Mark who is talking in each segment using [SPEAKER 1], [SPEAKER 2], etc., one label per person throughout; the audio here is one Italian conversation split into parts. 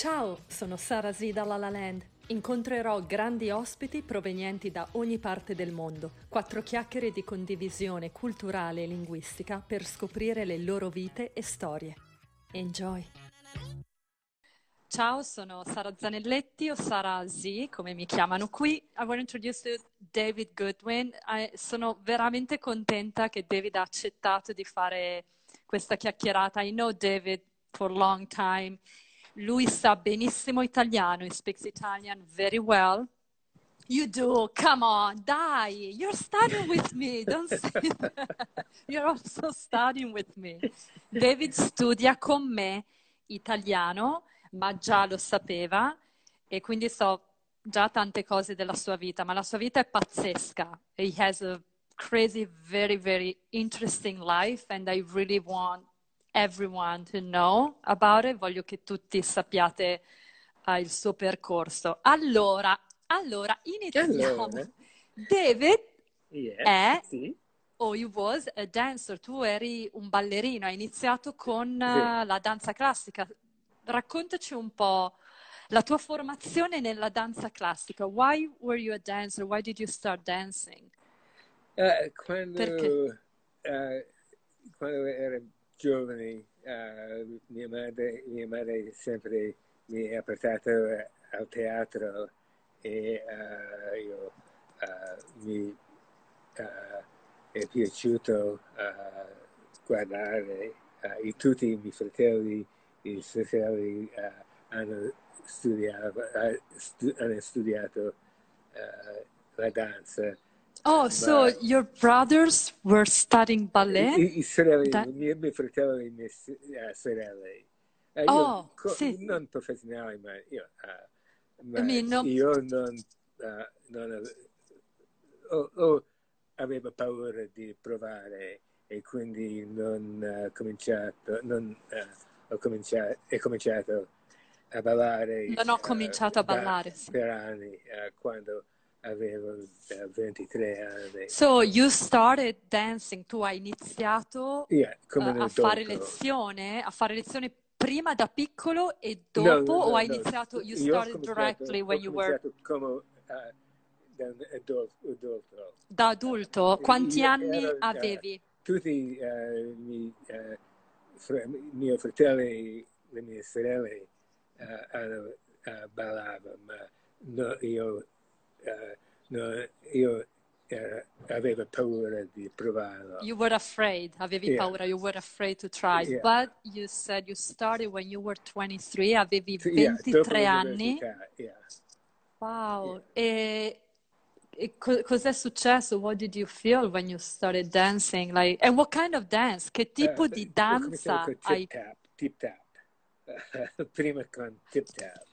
[SPEAKER 1] Ciao, sono Sara Z da La La Land. Incontrerò grandi ospiti provenienti da ogni parte del mondo. Quattro chiacchiere di condivisione culturale e linguistica per scoprire le loro vite e storie. Enjoy! Ciao, sono Sara Zanelletti o Sara Z, come mi chiamano qui. I want to introduce you to David Goodwin. Sono veramente contenta che David ha accettato di fare questa chiacchierata. I know David for a long time. Lui sa benissimo italiano, he speaks Italian very well. You do, come on, dai, you're studying with me, don't say that. You're also studying with me. David studia con me italiano, ma già lo sapeva e quindi so già tante cose della sua vita, ma la sua vita è pazzesca. He has a crazy, very, very interesting life and I really want everyone to know about it. Voglio che tutti sappiate il suo percorso. Allora, iniziamo.
[SPEAKER 2] Allora,
[SPEAKER 1] David
[SPEAKER 2] yes,
[SPEAKER 1] è,
[SPEAKER 2] sì,
[SPEAKER 1] o you was a dancer, tu eri un ballerino, hai iniziato con
[SPEAKER 2] sì.
[SPEAKER 1] la danza classica. Raccontaci un po' la tua formazione nella danza classica. Why were you a dancer? Why did you start dancing? Perché?
[SPEAKER 2] Quando, eh, quando ero giovane, mia madre sempre mi ha portato al teatro e mi è piaciuto guardare tutti i miei fratelli e sorelle hanno studiato la danza.
[SPEAKER 1] Oh, so
[SPEAKER 2] Ma
[SPEAKER 1] your brothers were studying ballet?
[SPEAKER 2] i sorelle,
[SPEAKER 1] Da-
[SPEAKER 2] miei fratelli e mie sorelle, io
[SPEAKER 1] oh, sì.
[SPEAKER 2] non professionale,
[SPEAKER 1] I
[SPEAKER 2] ma
[SPEAKER 1] mean, no.
[SPEAKER 2] io non avevo paura di provare e quindi non cominciato, non, ho cominciato a ballare
[SPEAKER 1] Non ho cominciato a ballare, sì.
[SPEAKER 2] per anni, quando avevo 23 anni.
[SPEAKER 1] So, you started dancing, tu hai iniziato
[SPEAKER 2] Yeah, come un adulto.
[SPEAKER 1] a fare lezione prima da piccolo e
[SPEAKER 2] No,
[SPEAKER 1] dopo,
[SPEAKER 2] no,
[SPEAKER 1] o
[SPEAKER 2] no,
[SPEAKER 1] hai
[SPEAKER 2] no.
[SPEAKER 1] iniziato, you
[SPEAKER 2] Io
[SPEAKER 1] started directly
[SPEAKER 2] ho
[SPEAKER 1] when you were
[SPEAKER 2] cominciato come da un adulto.
[SPEAKER 1] da adulto? Quanti anni
[SPEAKER 2] Ero,
[SPEAKER 1] avevi?
[SPEAKER 2] tutti miei fratelli e le mie sorelle ballavano, ma no, io avevo paura di provarlo.
[SPEAKER 1] You were afraid, avevi
[SPEAKER 2] Yeah,
[SPEAKER 1] paura, you were afraid to try,
[SPEAKER 2] yeah.
[SPEAKER 1] but you said you started when you were 23, avevi
[SPEAKER 2] Yeah, dopo
[SPEAKER 1] 23 anni.
[SPEAKER 2] l'università, yeah, yeah.
[SPEAKER 1] Wow, cos'è successo? What did you feel when you started dancing? Like, and what kind of dance? Che tipo di
[SPEAKER 2] Ho cominciato
[SPEAKER 1] danza
[SPEAKER 2] con
[SPEAKER 1] hai?
[SPEAKER 2] tip tap, prima con tip tap.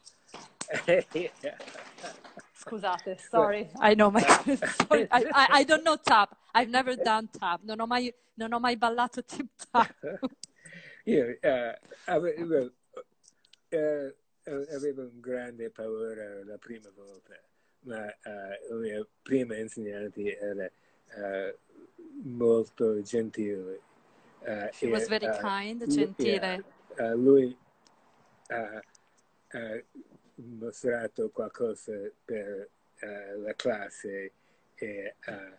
[SPEAKER 1] Scusate, sorry, I know my sorry, I don't know tap. I've never done tap. Non ho mai ballato tip tap.
[SPEAKER 2] Io avevo un grande paura la prima volta, ma la mia prima insegnante era molto gentile.
[SPEAKER 1] She was very kind,
[SPEAKER 2] Yeah,
[SPEAKER 1] gentile.
[SPEAKER 2] lui ha mostrato qualcosa per la classe e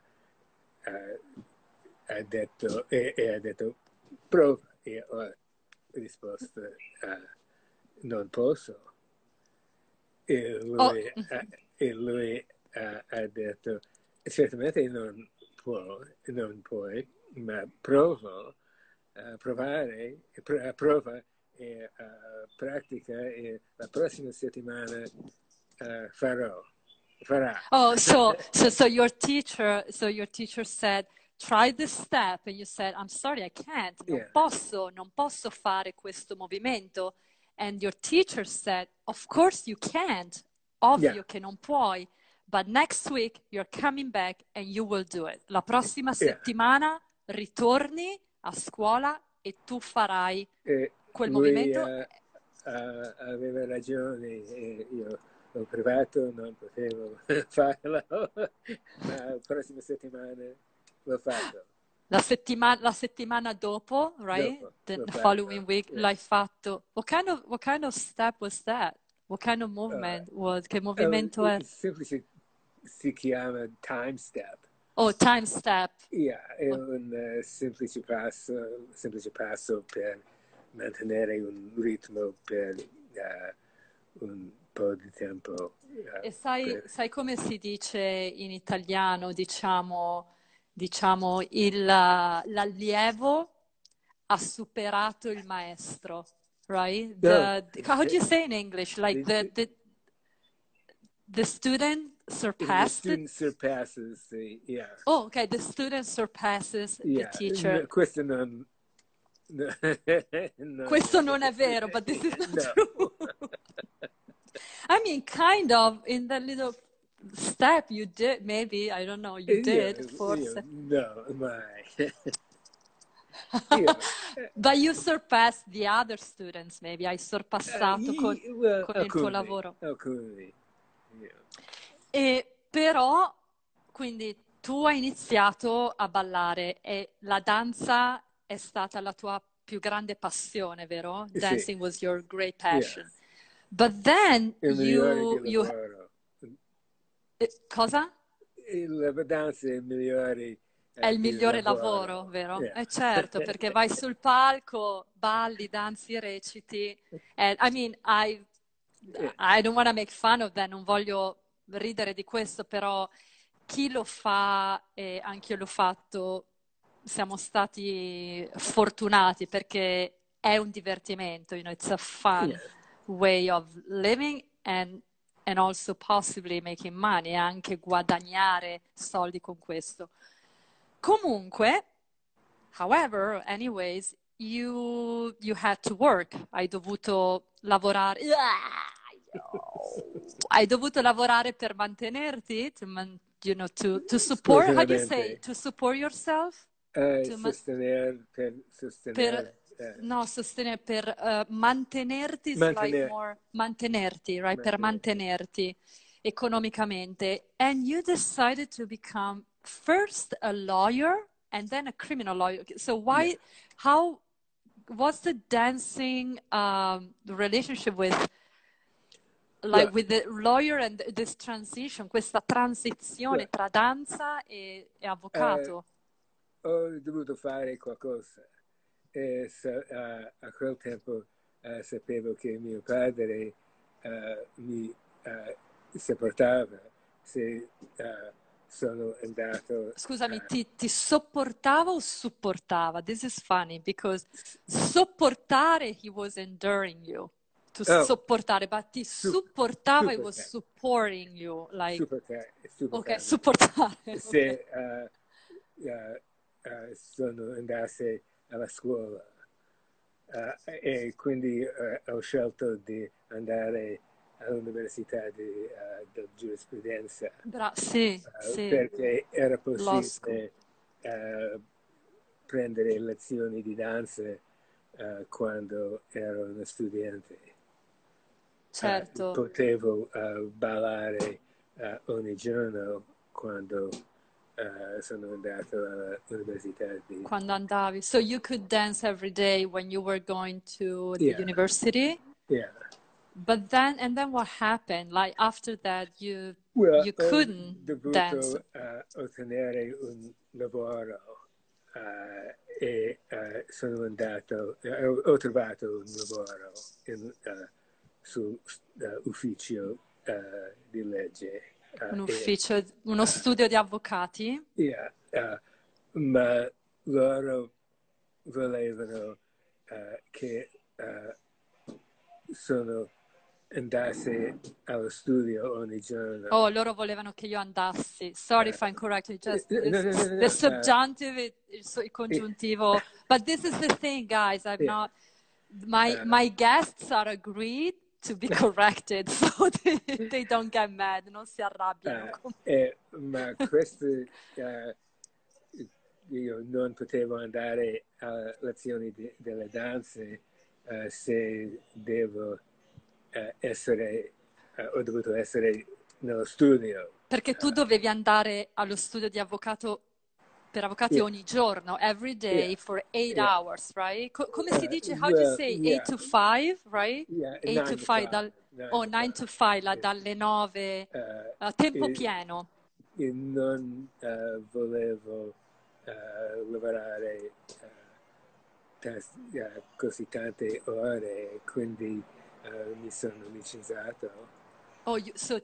[SPEAKER 2] ha detto prova e ho risposto non posso e
[SPEAKER 1] Oh,
[SPEAKER 2] lui ha detto certamente non puoi ma provare prova e pratica e la prossima settimana farà.
[SPEAKER 1] oh, so your teacher said, try this step, and you said, I'm sorry, I can't.
[SPEAKER 2] Yeah,
[SPEAKER 1] Non posso fare questo movimento. And your teacher said, of course you can't.
[SPEAKER 2] yeah,
[SPEAKER 1] Ovvio che non puoi. But next week you're coming back and you will do it. La prossima
[SPEAKER 2] yeah.
[SPEAKER 1] settimana ritorni a scuola e tu farai quel
[SPEAKER 2] Lui
[SPEAKER 1] movimento.
[SPEAKER 2] aveva ragione, io ho provato, non potevo farlo, ma la prossima settimana l'ho fatto.
[SPEAKER 1] La settimana dopo, right?
[SPEAKER 2] Dopo
[SPEAKER 1] The
[SPEAKER 2] l'ho
[SPEAKER 1] following
[SPEAKER 2] fatto.
[SPEAKER 1] week
[SPEAKER 2] Yeah.
[SPEAKER 1] l'hai fatto. What kind of step was that? What kind of movement was? Che movimento è?
[SPEAKER 2] Semplice, si chiama time step.
[SPEAKER 1] Oh, time step.
[SPEAKER 2] Yeah, è un semplice passo per mantenere un ritmo per un po' di tempo.
[SPEAKER 1] E sai come si dice in italiano, diciamo l'allievo ha superato il maestro, right? How do you say in English? Like the student surpassed
[SPEAKER 2] the student surpasses yeah.
[SPEAKER 1] Oh, okay, the student surpasses the teacher.
[SPEAKER 2] Questo non
[SPEAKER 1] Questo non è vero, but this is not
[SPEAKER 2] no.
[SPEAKER 1] true. I mean, kind of, in that little step you did, maybe, I don't know, you did, forse.
[SPEAKER 2] No, mai.
[SPEAKER 1] But you surpassed the other students, maybe. Hai sorpassato con il tuo lavoro.
[SPEAKER 2] Alcuni.
[SPEAKER 1] E però, quindi tu hai iniziato a ballare e la danza è stata la tua più grande passione, vero? Dancing was your great passion.
[SPEAKER 2] Yes.
[SPEAKER 1] But then cosa?
[SPEAKER 2] La danza è il migliore.
[SPEAKER 1] È il migliore lavoro, vero?
[SPEAKER 2] Yeah.
[SPEAKER 1] Certo, perché vai sul palco, balli, danzi, reciti. And, I mean, I don't want to make fun of that, non voglio ridere di questo, però chi lo fa, e anche io l'ho fatto, siamo stati fortunati perché è un divertimento, it's a fun way of living and also possibly making money, e anche guadagnare soldi con questo. Comunque, however, anyways, you had to work, hai dovuto lavorare. Hai dovuto lavorare per mantenerti, to support, how do you say, to support yourself?
[SPEAKER 2] Sostenere,
[SPEAKER 1] per mantenerti, like more, mantenerti, right? Per mantenerti economicamente. And you decided to become first a lawyer and then a criminal lawyer. So why, how was the dancing relationship with with the lawyer and this transition, questa transizione tra danza e avvocato?
[SPEAKER 2] Ho dovuto fare qualcosa e a quel tempo sapevo che mio padre mi sopportava se sono andato.
[SPEAKER 1] Scusami, ti sopportava o supportava? This is funny because sopportare, he was enduring you. To sopportare, but ti supportava, he was supporting you. Like,
[SPEAKER 2] supportare.
[SPEAKER 1] Ok, supportare.
[SPEAKER 2] Se sono andato alla scuola e quindi ho scelto di andare all'università di giurisprudenza.
[SPEAKER 1] Sì.
[SPEAKER 2] Perché era possibile prendere lezioni di danza quando ero uno studente.
[SPEAKER 1] Certo.
[SPEAKER 2] Potevo ballare ogni giorno quando sono andato all'università di...
[SPEAKER 1] Quando andavi. So you could dance every day when you were going to the university?
[SPEAKER 2] Yeah.
[SPEAKER 1] But then what happened? Like after that you couldn't dance?
[SPEAKER 2] Ho dovuto ottenere un lavoro e sono andato, ho trovato un lavoro su ufficio di legge.
[SPEAKER 1] Un ufficio, uno studio di avvocati?
[SPEAKER 2] Ma loro volevano che andassi allo studio ogni giorno.
[SPEAKER 1] Oh, loro volevano che io andassi. Sorry if I'm correct. Just the subjunctive, il congiuntivo. But this is the thing, guys. I'm not. My guests are agreed to be corrected, so they don't get mad. Non si arrabbiano.
[SPEAKER 2] Ma questo io non potevo andare a lezioni delle danze se ho dovuto essere nello studio.
[SPEAKER 1] Perché tu dovevi andare allo studio di avvocato per avvocati
[SPEAKER 2] yeah,
[SPEAKER 1] ogni giorno, every day
[SPEAKER 2] yeah,
[SPEAKER 1] for 8
[SPEAKER 2] yeah.
[SPEAKER 1] hours, right? Come si dice? How do you
[SPEAKER 2] Well,
[SPEAKER 1] say? 8
[SPEAKER 2] yeah,
[SPEAKER 1] to 5, right?
[SPEAKER 2] yeah,
[SPEAKER 1] 8 to
[SPEAKER 2] nine to
[SPEAKER 1] 5,
[SPEAKER 2] five, nine
[SPEAKER 1] oh,
[SPEAKER 2] to
[SPEAKER 1] 9
[SPEAKER 2] five.
[SPEAKER 1] to 5,
[SPEAKER 2] Yeah.
[SPEAKER 1] dalle 9,
[SPEAKER 2] Uh,
[SPEAKER 1] a tempo
[SPEAKER 2] e,
[SPEAKER 1] pieno.
[SPEAKER 2] e non volevo lavorare così tante ore, quindi mi sono licenziato.
[SPEAKER 1] Oh, so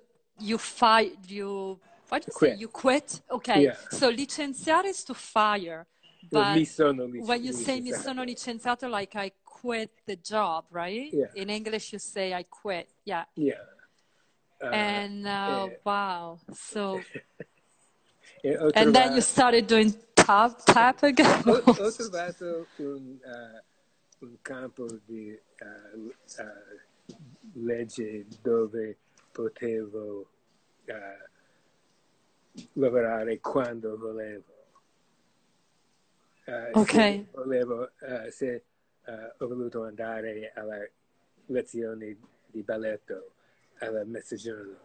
[SPEAKER 1] what do you say?
[SPEAKER 2] Quit.
[SPEAKER 1] You quit? Okay,
[SPEAKER 2] Yeah.
[SPEAKER 1] so licenziare is to fire,
[SPEAKER 2] Mi
[SPEAKER 1] but
[SPEAKER 2] sono
[SPEAKER 1] when you say mi
[SPEAKER 2] licenziato.
[SPEAKER 1] sono licenziato, like I quit the job, right?
[SPEAKER 2] Yeah.
[SPEAKER 1] In English you say I quit, yeah.
[SPEAKER 2] Yeah.
[SPEAKER 1] And wow, so and then you started doing tap again?
[SPEAKER 2] Ho trovato un campo di legge dove potevo lavorare quando volevo.
[SPEAKER 1] Ok.
[SPEAKER 2] Se ho voluto andare alle lezioni di balletto alla mezzogiorno,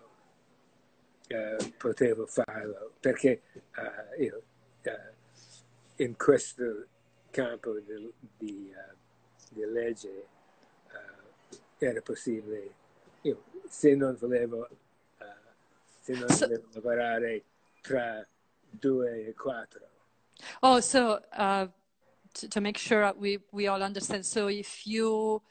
[SPEAKER 2] potevo farlo, perché io in questo campo di legge era possibile. Io, se non volevo lavorare tra 2 e 4.
[SPEAKER 1] Oh, so to make sure we all understand, so if you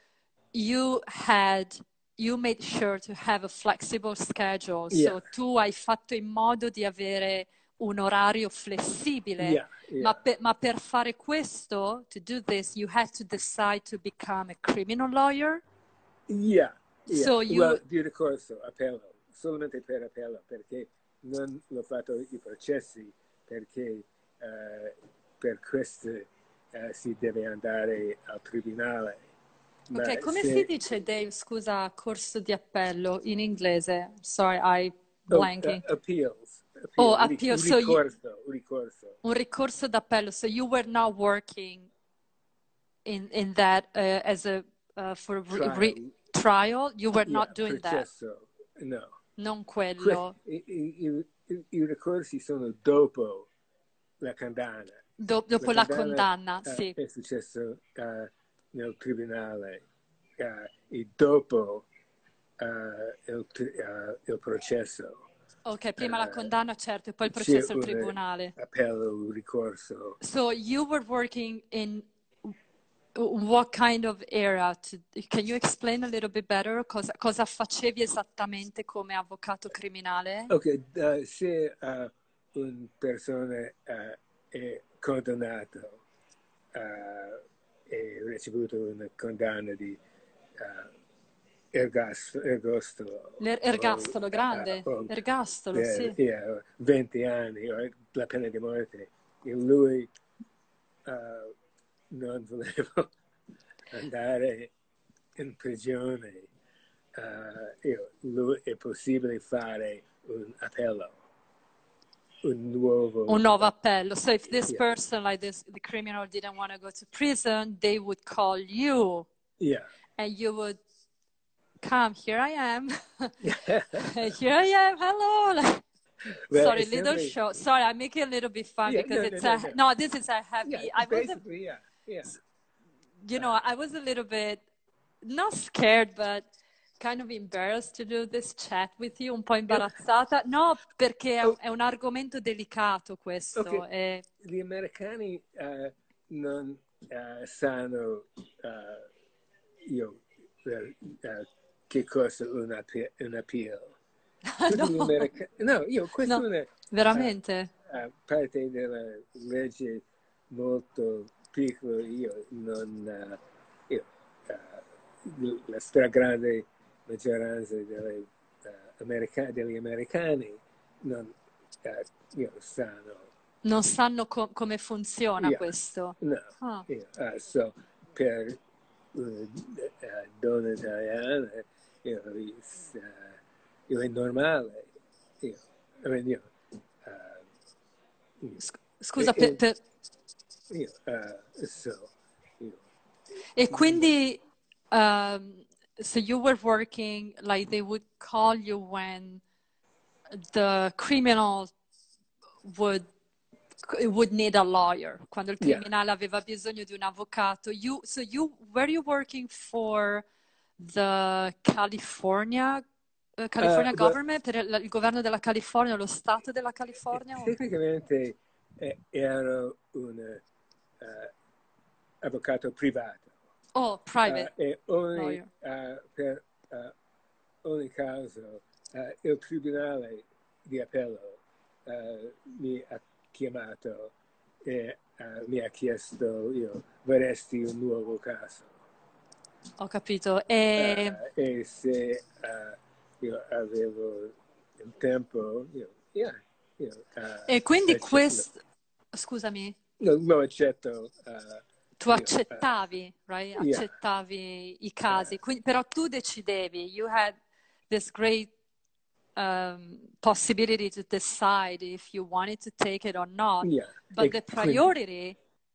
[SPEAKER 1] made sure to have a flexible schedule,
[SPEAKER 2] Yeah.
[SPEAKER 1] so tu hai fatto in modo di avere un orario flessibile,
[SPEAKER 2] Yeah, yeah.
[SPEAKER 1] ma per fare questo, to do this, you had to decide to become a criminal lawyer?
[SPEAKER 2] Yeah, yeah.
[SPEAKER 1] So
[SPEAKER 2] di ricorso, appello, solamente per appello, perché non l'ho fatto i processi, perché per questo si deve andare al tribunale.
[SPEAKER 1] Ok, come si dice, Dave, scusa, corso di appello in inglese? Sorry, I blanking.
[SPEAKER 2] Appeals.
[SPEAKER 1] Oh, appeal.
[SPEAKER 2] Un ricorso.
[SPEAKER 1] Un ricorso d'appello. So you were not working in that as a for trial. You were not doing
[SPEAKER 2] processo.
[SPEAKER 1] that.
[SPEAKER 2] No.
[SPEAKER 1] Non quello.
[SPEAKER 2] I ricorsi sono dopo la condanna.
[SPEAKER 1] Dopo la condanna, sì.
[SPEAKER 2] È successo nel tribunale e dopo il processo.
[SPEAKER 1] Ok, prima la condanna, certo, e poi il processo al tribunale.
[SPEAKER 2] Appello, ricorso.
[SPEAKER 1] So you were working in what kind of area? Can you explain a little bit better? Cosa facevi esattamente come avvocato criminale?
[SPEAKER 2] Ok, se una persona è condannato e ricevuto una condanna di ergastolo.
[SPEAKER 1] L'ergastolo grande, ergastolo, sì.
[SPEAKER 2] 20 anni, la pena di morte. E lui non voleva andare in prigione. È possibile fare un appello. Un nuovo
[SPEAKER 1] appello. So if this person, like the criminal, didn't want to go to prison, they would call you.
[SPEAKER 2] Yeah.
[SPEAKER 1] And you would come, here I am. Here I am, hello. Well, sorry, little show. Sorry, I make it a little bit fun because this is a happy.
[SPEAKER 2] Yeah,
[SPEAKER 1] you know, I was a little bit not scared, but kind of embarrassed to do this chat with you, un po' imbarazzata. No, perché è un argomento delicato questo.
[SPEAKER 2] Okay. Gli americani non sanno che cosa un appeal. Questo è
[SPEAKER 1] veramente?
[SPEAKER 2] Parte della legge molto piccola. Io non la stragrande maggioranza degli americani non sanno.
[SPEAKER 1] Non sanno come funziona questo.
[SPEAKER 2] No. So per donna italiana è normale.
[SPEAKER 1] Scusa, e quindi so you were working, like they would call you when the criminal would would need a lawyer, quando il
[SPEAKER 2] Yeah.
[SPEAKER 1] criminale aveva bisogno di un avvocato. Were you working for the California
[SPEAKER 2] Well,
[SPEAKER 1] government, per il governo della California, lo stato della California?
[SPEAKER 2] tecnicamente ero un avvocato privato.
[SPEAKER 1] Oh, private
[SPEAKER 2] E
[SPEAKER 1] lawyer.
[SPEAKER 2] per ogni caso il tribunale di appello mi ha chiamato e mi ha chiesto, vorresti un nuovo caso?
[SPEAKER 1] Ho capito. E
[SPEAKER 2] Se io avevo il tempo,
[SPEAKER 1] e quindi
[SPEAKER 2] accetto,
[SPEAKER 1] scusami,
[SPEAKER 2] lo accetto.
[SPEAKER 1] tu accettavi, right?
[SPEAKER 2] Yeah.
[SPEAKER 1] Accettavi i casi, però tu decidevi, you had this great possibility to decide if you wanted to take it or not,
[SPEAKER 2] Yeah.
[SPEAKER 1] but the priority,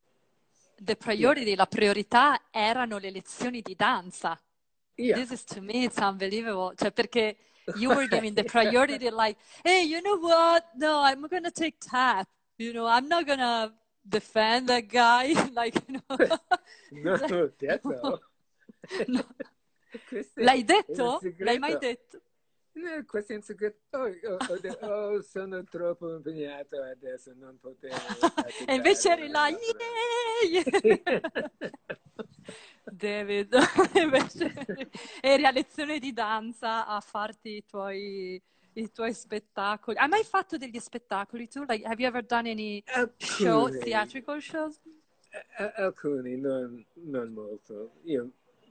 [SPEAKER 1] la priorità erano le lezioni di danza.
[SPEAKER 2] Yeah.
[SPEAKER 1] This is, to me, it's unbelievable. Cioè, perché you were giving the priority like, hey, you know what? No, I'm going to take tap. I'm not going to defend that guy. Like,
[SPEAKER 2] Non l'ho detto.
[SPEAKER 1] No. L'hai detto? L'hai mai detto?
[SPEAKER 2] Questo è un segreto. Sono troppo impegnato adesso, non potevo.
[SPEAKER 1] E invece eri là, yeah! David, invece eri a lezione di danza a farti i tuoi spettacoli. Hai mai fatto degli spettacoli tu? Like, have you ever done any theatrical shows?
[SPEAKER 2] Alcuni, non molto. Io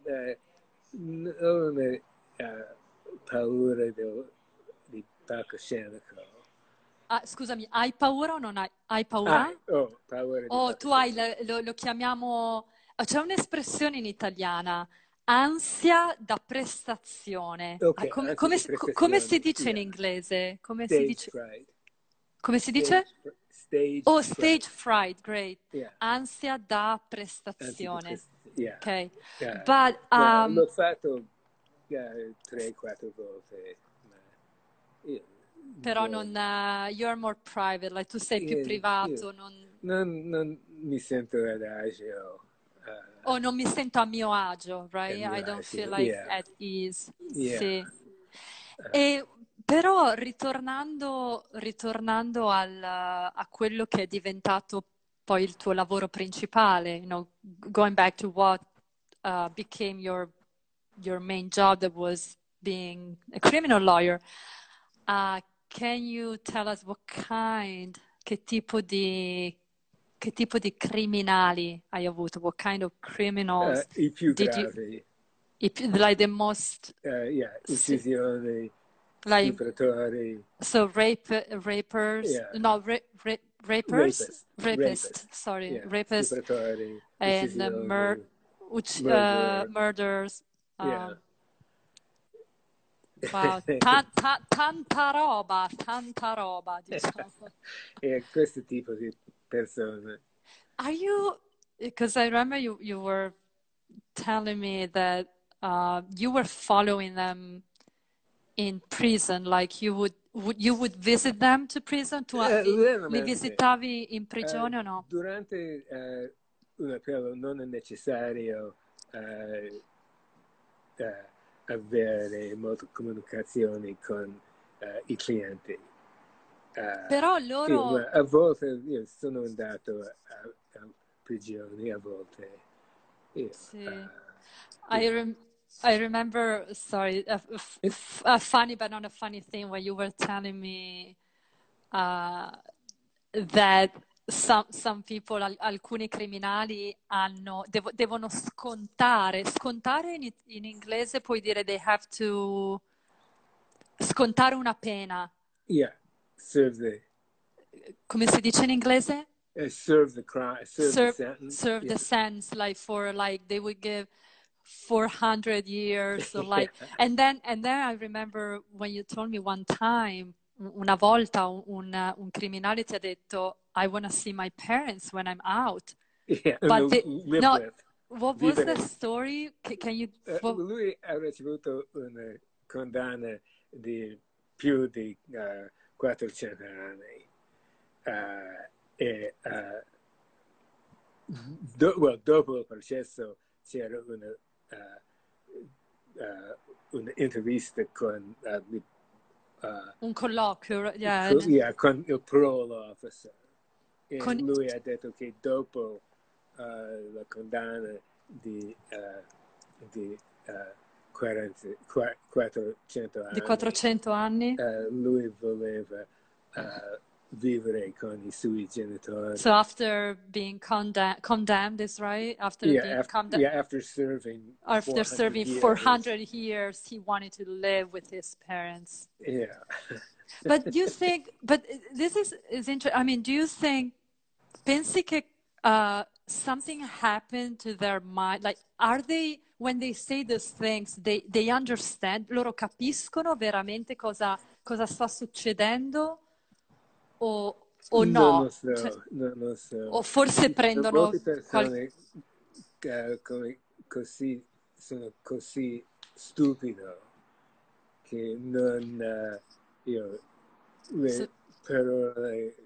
[SPEAKER 2] ho una paura di palcoscenico.
[SPEAKER 1] Scusami, hai paura o non hai paura?
[SPEAKER 2] Paura di
[SPEAKER 1] tu hai, lo chiamiamo, c'è un'espressione in italiana, ansia da prestazione.
[SPEAKER 2] Okay,
[SPEAKER 1] come si dice in inglese? Come si dice?
[SPEAKER 2] Fright.
[SPEAKER 1] Come si dice? Stage fright, great.
[SPEAKER 2] Yeah.
[SPEAKER 1] Ansia da prestazione.
[SPEAKER 2] Yeah.
[SPEAKER 1] Ok.
[SPEAKER 2] Yeah.
[SPEAKER 1] But,
[SPEAKER 2] l'ho fatto 3-4 volte.
[SPEAKER 1] Però non, you're more private, like tu sei più privato.
[SPEAKER 2] Non mi sento adagio.
[SPEAKER 1] Non mi sento a mio agio, right? I don't feel like at ease.
[SPEAKER 2] Yeah.
[SPEAKER 1] Sì. Però ritornando a quello che è diventato poi il tuo lavoro principale, going back to what became your main job, that was being a criminal lawyer. Can you tell us che tipo di criminali hai avuto? What kind of criminals?
[SPEAKER 2] I più gravi.
[SPEAKER 1] Like the most...
[SPEAKER 2] uccisioni,
[SPEAKER 1] like,
[SPEAKER 2] stupratori.
[SPEAKER 1] So rapers?
[SPEAKER 2] Yeah.
[SPEAKER 1] No, rapers?
[SPEAKER 2] Rapists.
[SPEAKER 1] Sorry,
[SPEAKER 2] Yeah.
[SPEAKER 1] rapists.
[SPEAKER 2] Stupratori,
[SPEAKER 1] And murders.
[SPEAKER 2] Yeah.
[SPEAKER 1] Wow, tanta roba, diciamo.
[SPEAKER 2] Questo tipo di persone.
[SPEAKER 1] Are you, because I remember you were telling me that you were following them in prison, like you would visit them to prison? Li visitavi in prigione o no?
[SPEAKER 2] Durante un appello non è necessario avere molte comunicazioni con i clienti.
[SPEAKER 1] Però loro...
[SPEAKER 2] a volte io sono andato a prigioni, a volte.
[SPEAKER 1] Sì. I remember, sorry, a funny but not a funny thing when you were telling me that some people, alcuni criminali devono scontare in inglese puoi dire they have to scontare una pena.
[SPEAKER 2] Yeah,
[SPEAKER 1] come si dice in inglese?
[SPEAKER 2] Serve the crime, the sentence.
[SPEAKER 1] Serve the sentence, like for like they would give 400 years, so like, and then I remember when you told me one time, una volta un criminale ti ha detto, I want to see my parents when I'm out.
[SPEAKER 2] Yeah,
[SPEAKER 1] but what was
[SPEAKER 2] the
[SPEAKER 1] story? Can you?
[SPEAKER 2] Lui ha ricevuto una condanna di più di 400 anni. e dopo il processo c'era un'intervista con
[SPEAKER 1] un colloquio,
[SPEAKER 2] con il parole officer. E
[SPEAKER 1] con...
[SPEAKER 2] lui ha detto che dopo la condanna di
[SPEAKER 1] 400 anni.
[SPEAKER 2] Lui voleva vivere con I suoi genitori.
[SPEAKER 1] So after being condemned is right? After being condemned.
[SPEAKER 2] After serving
[SPEAKER 1] 400 years, he wanted to live with his parents.
[SPEAKER 2] Yeah.
[SPEAKER 1] But this is interesting. I mean, do you think, pensi che something happened to their mind? Like, are they, when they say those things, they understand? Loro capiscono veramente cosa sta succedendo? O no?
[SPEAKER 2] Non lo so, non lo so.
[SPEAKER 1] O forse prendono...
[SPEAKER 2] Molte persone sono così stupido che non... per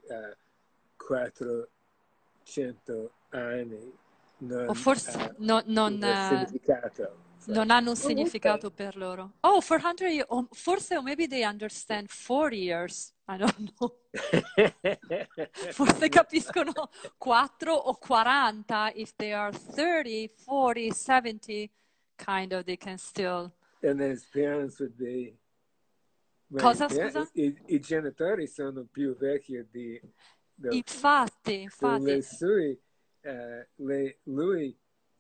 [SPEAKER 2] 400 anni non
[SPEAKER 1] o forse non
[SPEAKER 2] significato.
[SPEAKER 1] Non hanno un significato per loro. Oh, 400 years, or forse, or maybe they understand 40 years. I don't know. Forse capiscono 4 o 40. If they are 30, 40, 70, kind of, they can still...
[SPEAKER 2] And his parents would be...
[SPEAKER 1] Cosa, scusa?
[SPEAKER 2] I genitori sono più vecchi di...
[SPEAKER 1] Infatti.
[SPEAKER 2] Lui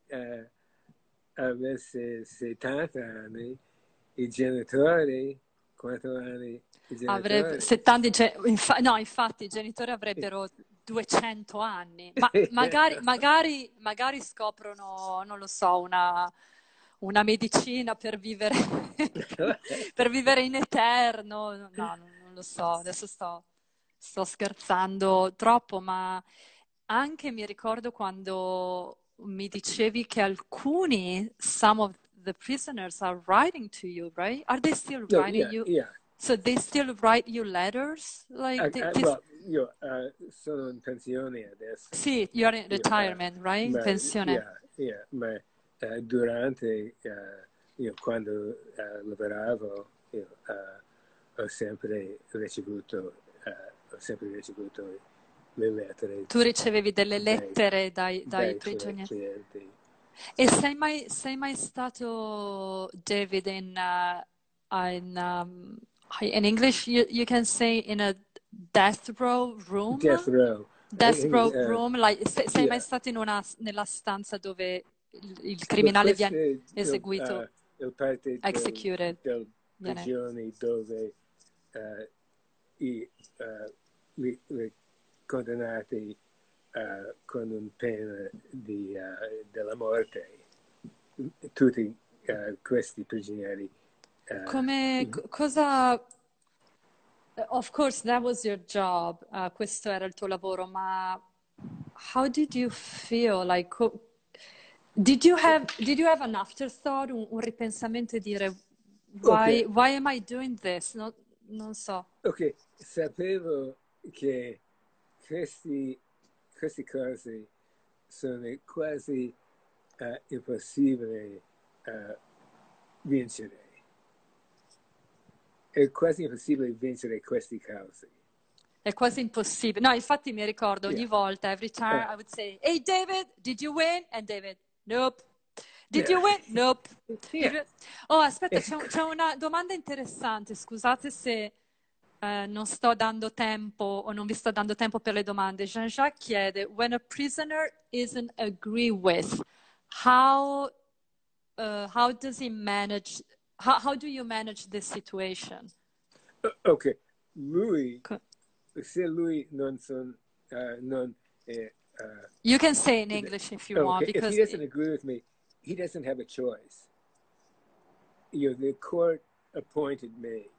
[SPEAKER 2] avesse 70 anni, i genitori, quanto anni?
[SPEAKER 1] Avrebbe 70, no, infatti i genitori avrebbero 200 anni, ma magari scoprono, non lo so, una medicina per vivere, per vivere in eterno. No, non lo so, adesso sto scherzando troppo, ma anche mi ricordo quando mi dicevi che some of the prisoners are writing to you, right? Are they still writing you?
[SPEAKER 2] Yeah.
[SPEAKER 1] So they still write you letters? Like
[SPEAKER 2] io sono in pensione adesso.
[SPEAKER 1] Sì, you're in retirement, right? In pensione.
[SPEAKER 2] Yeah, ma durante, quando lavoravo, ho sempre ricevuto le lettere. Tu
[SPEAKER 1] ricevevi delle lettere dai prigionieri?
[SPEAKER 2] Clienti.
[SPEAKER 1] E sei mai stato, David, in English you can say in a death row room?
[SPEAKER 2] Death row
[SPEAKER 1] room, like, sei mai stato nella stanza dove il criminale viene eseguito?
[SPEAKER 2] Il parte
[SPEAKER 1] executed.
[SPEAKER 2] del prigioni dove i condannati con un pena della morte. Tutti questi prigionieri.
[SPEAKER 1] Cosa... Of course, that was your job. Questo era il tuo lavoro, ma how did you feel? Like, did you have an afterthought, un ripensamento e dire why am I doing this? No, non so.
[SPEAKER 2] Ok, sapevo che queste cose sono quasi impossibili vincere. È quasi impossibile vincere queste cause.
[SPEAKER 1] È quasi impossibile. No, infatti mi ricordo ogni volta, every time I would say, "Hey David, did you win?" And David, "Nope." Did you win? Nope. Oh, aspetta, c'è una domanda interessante. Scusate se non sto dando tempo o non vi sto dando tempo per le domande. Jean-Jacques chiede, when a prisoner isn't agree with, how does he manage, how do you manage this situation?
[SPEAKER 2] Ok, se lui non
[SPEAKER 1] you can say in English if you want, because
[SPEAKER 2] if he doesn't agree with me, he doesn't have a choice. The court appointed me.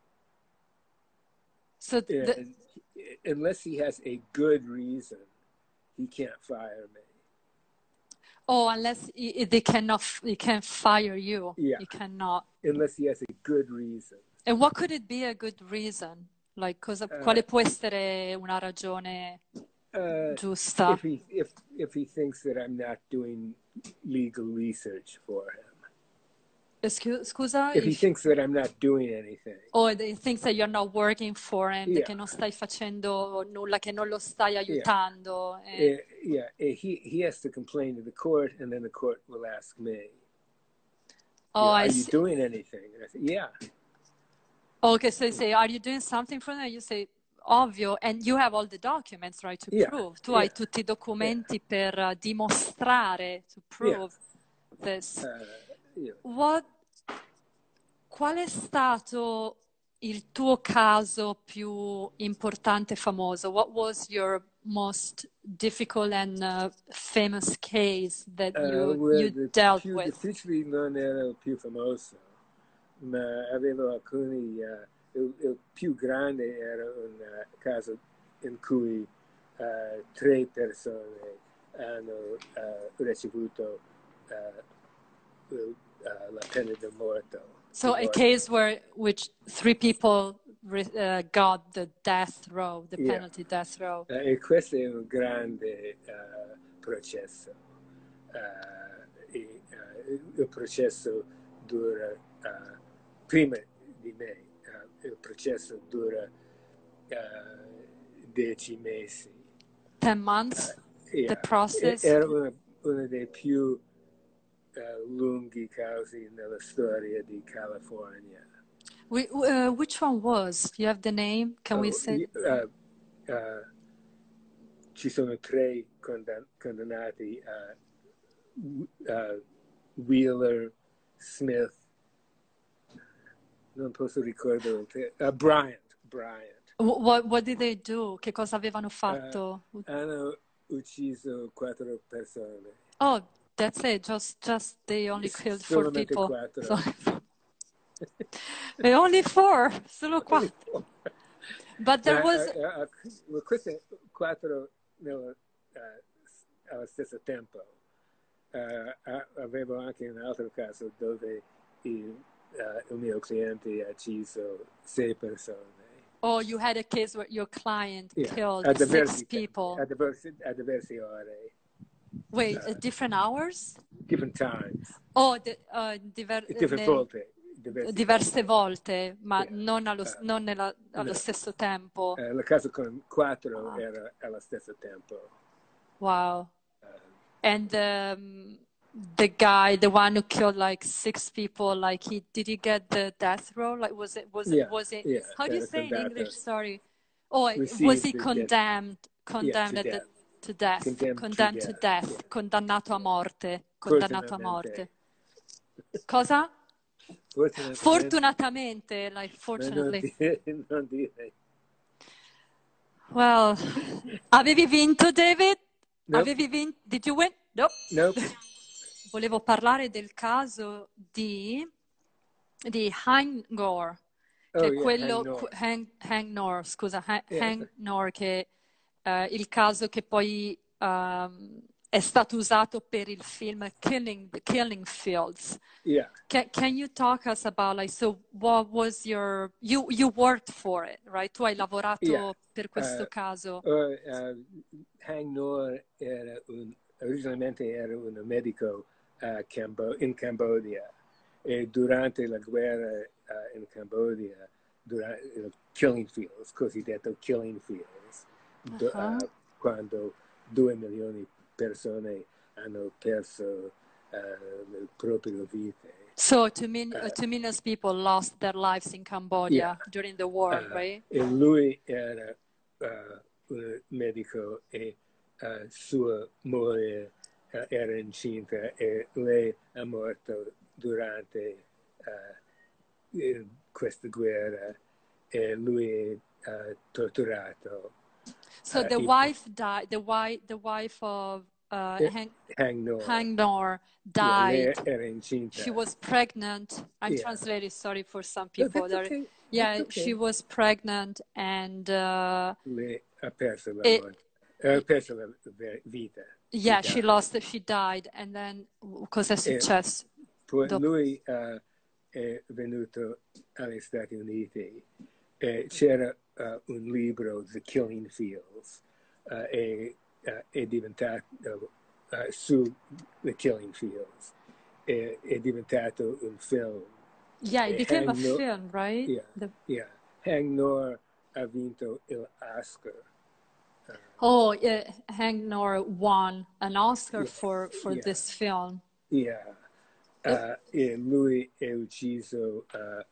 [SPEAKER 1] So
[SPEAKER 2] unless he has a good reason, he can't fire me.
[SPEAKER 1] Oh, unless he can't fire you.
[SPEAKER 2] Yeah.
[SPEAKER 1] He cannot.
[SPEAKER 2] Unless he has a good reason.
[SPEAKER 1] And what could it be a good reason? Like, quale può essere una ragione? giusta?
[SPEAKER 2] If he thinks that I'm not doing legal research for him.
[SPEAKER 1] Scusa?
[SPEAKER 2] If he thinks that I'm not doing anything.
[SPEAKER 1] Or he thinks that you're not working for him, che non stai facendo nulla, che non lo stai aiutando.
[SPEAKER 2] He has to complain to the court, and then the court will ask me,
[SPEAKER 1] are
[SPEAKER 2] you doing anything? And I say, yeah.
[SPEAKER 1] Okay, so you say, are you doing something for them? You say, ovvio, and you have all the documents, right, to prove. Tu hai tutti I documenti per dimostrare, to prove this. Qual è stato il tuo caso più importante e famoso? What was your most difficult and famous case that you dealt with?
[SPEAKER 2] Difficile non era il più famoso, ma avevo alcuni. Il più grande era un caso in cui 3 persone hanno ricevuto la pena di morte.
[SPEAKER 1] So a case which 3 people got the death row, the penalty death row.
[SPEAKER 2] E questo è un grande processo. Il processo dura, prima di me, il processo dura 10 mesi.
[SPEAKER 1] 10 months, the process?
[SPEAKER 2] Era uno dei più lunghi casi nella storia di California.
[SPEAKER 1] Which one was? You have the name? Can we say?
[SPEAKER 2] Ci sono 3 condannati, Wheeler, Smith, non posso ricordare, Bryant.
[SPEAKER 1] What did they do? Che cosa avevano fatto?
[SPEAKER 2] Hanno ucciso 4 persone.
[SPEAKER 1] Oh, that's it. Just they only killed 4 people.
[SPEAKER 2] 4.
[SPEAKER 1] E only 4, solo 4. But there was.
[SPEAKER 2] Queste 4 allo stesso tempo. Avevo anche un altro caso dove il mio cliente ha ucciso 6 persone.
[SPEAKER 1] Oh, you had a case where your client killed 6 people.
[SPEAKER 2] At diverse ore.
[SPEAKER 1] Wait, at different hours?
[SPEAKER 2] Different times.
[SPEAKER 1] Oh,
[SPEAKER 2] different volte.
[SPEAKER 1] Diverse volte, ma non allo stesso tempo.
[SPEAKER 2] Il caso con 4 era allo stesso tempo.
[SPEAKER 1] Wow. And the guy, the one who killed like 6 people, like did he get the death row? Like was it?
[SPEAKER 2] Yeah,
[SPEAKER 1] how do you say in English? Sorry. Oh, was he condemned to death? Condemned to death. Condannato a morte. Condannato a morte. Cosa? Fortunatamente, like fortunately.
[SPEAKER 2] Non dire.
[SPEAKER 1] Well, avevi vinto, David?
[SPEAKER 2] Nope.
[SPEAKER 1] Avevi vinto? Did you win?
[SPEAKER 2] Nope.
[SPEAKER 1] Volevo parlare del caso di Hangnor, che è quello Hang Nor, scusa, Hang Nor, che è il caso che poi è stato usato per il film Killing Fields.
[SPEAKER 2] Yeah.
[SPEAKER 1] Can you talk us about, like, so what was you worked for it, right? Tu hai lavorato per questo caso.
[SPEAKER 2] Hang Nor originalmente era un medico in Cambogia, e durante la guerra in Cambogia, durante il Killing Fields, cosiddetto Killing Fields, quando 2 milioni di persone hanno perso le proprie vite.
[SPEAKER 1] So 2 million people lost their lives in Cambodia during the war, right?
[SPEAKER 2] E lui era un medico, e sua moglie era incinta, e lei è morta durante questa guerra, e lui è torturato.
[SPEAKER 1] So the wife died. The wife of Hang Nor died.
[SPEAKER 2] Lei era incinta.
[SPEAKER 1] She was pregnant. I'm translating. Sorry for some people.
[SPEAKER 2] Okay.
[SPEAKER 1] Yeah, okay. She was pregnant, and
[SPEAKER 2] lei ha perso la vita.
[SPEAKER 1] Yeah, she died, and then cosa è successo?
[SPEAKER 2] Poi lui è venuto agli Stati Uniti, e c'era un libro, The Killing Fields, è diventato su The Killing Fields, è diventato un film.
[SPEAKER 1] Yeah, it became a
[SPEAKER 2] Hang No-
[SPEAKER 1] film, right?
[SPEAKER 2] Yeah. Hang Nor ha vinto l'Oscar.
[SPEAKER 1] Oh, Hank Nor won an Oscar for
[SPEAKER 2] Yeah.
[SPEAKER 1] this film.
[SPEAKER 2] Yeah. E lui è ucciso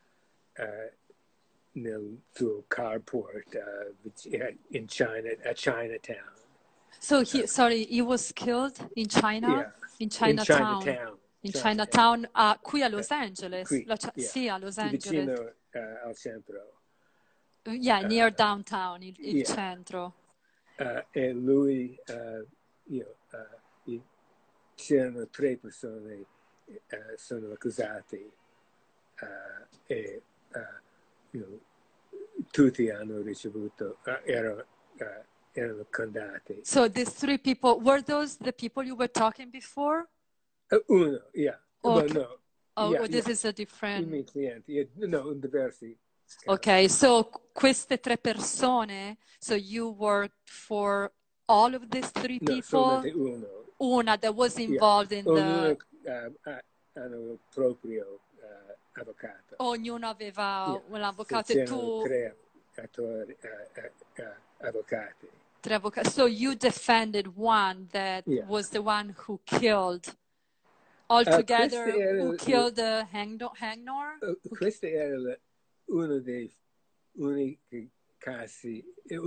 [SPEAKER 2] nel suo carport in Chinatown.
[SPEAKER 1] So he was killed in China?
[SPEAKER 2] Yeah.
[SPEAKER 1] In Chinatown. In Chinatown, qui a Los Angeles.
[SPEAKER 2] Qui,
[SPEAKER 1] Sì, a Los Angeles.
[SPEAKER 2] vicino al centro.
[SPEAKER 1] Yeah, near downtown, il centro.
[SPEAKER 2] E lui, c'erano 3 persone sono accusati e tutti hanno ricevuto, erano condannati.
[SPEAKER 1] So these 3 people, were those the people you were talking before?
[SPEAKER 2] Uno, yeah.
[SPEAKER 1] Okay.
[SPEAKER 2] Well, no.
[SPEAKER 1] Oh, this is a different...
[SPEAKER 2] I miei clienti, no, diversi.
[SPEAKER 1] Ok, so queste 3 persone, so you worked for all of these 3 people?
[SPEAKER 2] No, solamente uno.
[SPEAKER 1] Una that was involved in the...
[SPEAKER 2] Hanno il proprio avvocato.
[SPEAKER 1] Ognuno aveva un avvocato
[SPEAKER 2] e
[SPEAKER 1] e tu...
[SPEAKER 2] 3 avvocati.
[SPEAKER 1] 3 avvocati. So you defended one that was the one who killed altogether, who killed Hang Nor?
[SPEAKER 2] Questo era uno dei unici casi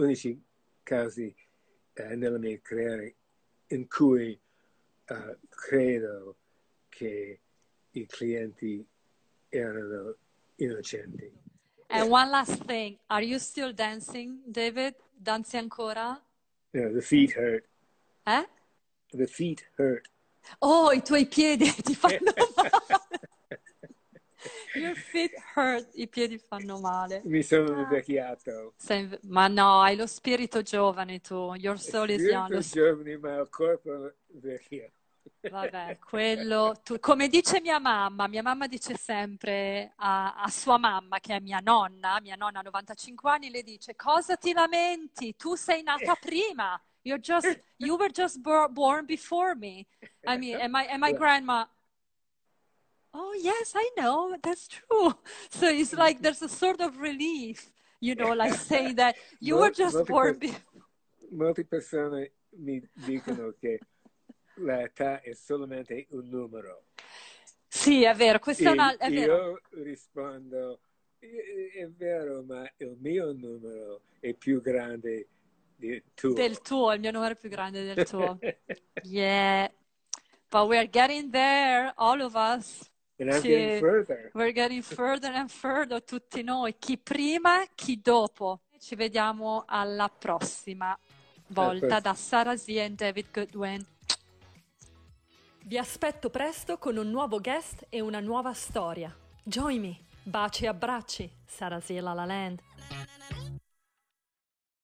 [SPEAKER 2] nella mia carriera in cui credo che i clienti erano innocenti.
[SPEAKER 1] And one last thing, are you still dancing, David? Danzi ancora?
[SPEAKER 2] No, the feet hurt.
[SPEAKER 1] Eh?
[SPEAKER 2] The feet hurt.
[SPEAKER 1] Oh, i tuoi piedi ti fanno male. Your feet hurt, i piedi fanno male.
[SPEAKER 2] Mi sono invecchiato.
[SPEAKER 1] Ma no, hai lo spirito giovane tu. Your soul is young.
[SPEAKER 2] Giovane, ma il corpo vecchio.
[SPEAKER 1] Vabbè, quello... come dice mia mamma dice sempre a sua mamma, che è mia nonna ha 95 anni, le dice: cosa ti lamenti? Tu sei nata prima. You were just born before me. I mean, and my grandma... Oh, yes, I know, that's true. So it's like there's a sort of relief, like saying that you were just born before.
[SPEAKER 2] Molte persone mi dicono che l'età è solamente un numero.
[SPEAKER 1] Sì, è vero, questo è vero.
[SPEAKER 2] Io rispondo, è vero, ma il mio numero è più grande del tuo.
[SPEAKER 1] Il mio numero è più grande del tuo. Yeah, but we're getting there, all of us.
[SPEAKER 2] And I'm getting further.
[SPEAKER 1] We're getting further and further, tutti noi, chi prima, chi dopo. Ci vediamo alla prossima volta da Sarah Z e David Goodwin. Vi aspetto presto con un nuovo guest e una nuova storia. Join me. Baci e abbracci. Sarah Z La La Land.